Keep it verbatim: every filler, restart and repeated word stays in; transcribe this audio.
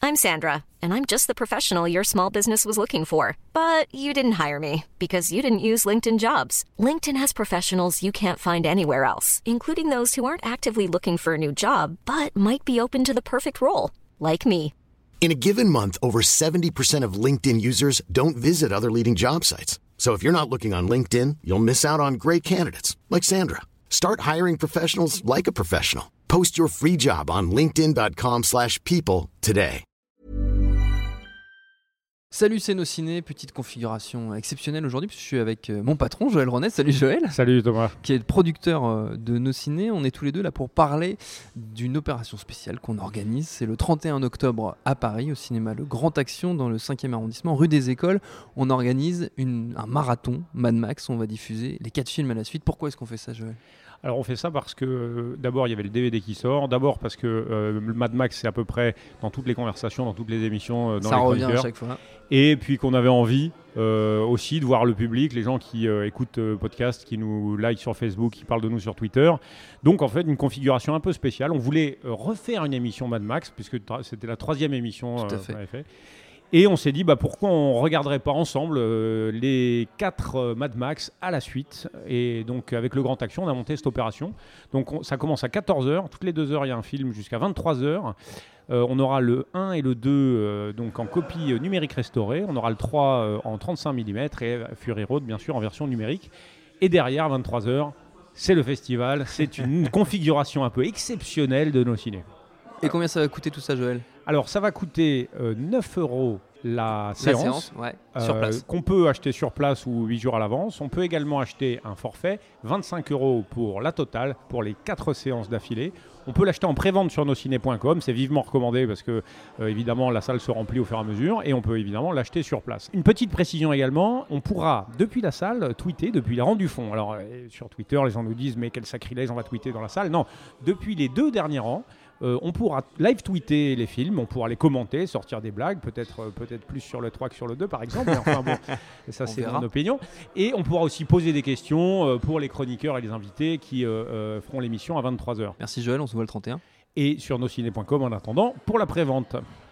I'm Sandra, and I'm just the professional your small business was looking for. But you didn't hire me because you didn't use LinkedIn Jobs. LinkedIn has professionals you can't find anywhere else, including those who aren't actively looking for a new job, but might be open to the perfect role, like me. In a given month, over seventy percent of LinkedIn users don't visit other leading job sites. So if you're not looking on LinkedIn, you'll miss out on great candidates like Sandra. Start hiring professionals like a professional. Post your free job on linkedin.com slash people today. Salut, c'est Nos Ciné, petite configuration exceptionnelle aujourd'hui puisque je suis avec mon patron Joël Ronet. Salut Joël. Salut Thomas. Qui est le producteur de Nos Ciné. On est tous les deux là pour parler d'une opération spéciale qu'on organise. C'est le trente et un octobre à Paris, au cinéma Le Grand Action, dans le cinquième arrondissement, rue des Écoles. On organise une, un marathon Mad Max. On va diffuser les quatre films à la suite. Pourquoi est-ce qu'on fait ça, Joël ? Alors on fait ça parce que euh, d'abord il y avait le D V D qui sort, d'abord parce que euh, le Mad Max c'est à peu près dans toutes les conversations, dans toutes les émissions, euh, dans ça les revient chroniqueurs. à chaque fois. Et puis qu'on avait envie euh, aussi de voir le public, les gens qui euh, écoutent euh, podcast, qui nous like sur Facebook, qui parlent de nous sur Twitter. Donc en fait une configuration un peu spéciale. On voulait euh, refaire une émission Mad Max puisque tra- c'était la troisième émission Tout à euh, fait. qu'on avait fait. Et on s'est dit, bah, pourquoi on ne regarderait pas ensemble euh, les quatre euh, Mad Max à la suite. Et donc, avec Le Grand Action, on a monté cette opération. Donc, on, ça commence à quatorze heures. Toutes les deux heures, il y a un film jusqu'à vingt-trois heures. Euh, on aura le un et le deux euh, donc en copie euh, numérique restaurée. On aura le trois euh, en trente-cinq millimètres et Fury Road, bien sûr, en version numérique. Et derrière, à vingt-trois heures, c'est le festival. C'est une configuration un peu exceptionnelle de Nos Ciné. Et combien ça va coûter tout ça, Joël ? Alors, ça va coûter euh, neuf euros la séance, la séance ouais, euh, sur place. Qu'on peut acheter sur place ou huit jours à l'avance. On peut également acheter un forfait, vingt-cinq euros pour la totale, pour les quatre séances d'affilée. On peut l'acheter en pré-vente sur nosciné point com, c'est vivement recommandé parce que euh, évidemment la salle se remplit au fur et à mesure et on peut évidemment l'acheter sur place. Une petite précision également, on pourra depuis la salle tweeter depuis les rangs du fond. Alors euh, sur Twitter les gens nous disent mais quel sacrilège on va tweeter dans la salle. Non, depuis les deux derniers rangs, Euh, on pourra live tweeter les films, on pourra les commenter, sortir des blagues, peut-être, euh, peut-être plus sur le trois que sur le deux par exemple, mais enfin bon, ça c'est verra. mon opinion. Et on pourra aussi poser des questions euh, pour les chroniqueurs et les invités qui euh, euh, feront l'émission à vingt-trois heures. Merci Joël, on se voit le trente et un. Et sur nosciné point com en attendant pour la pré-vente.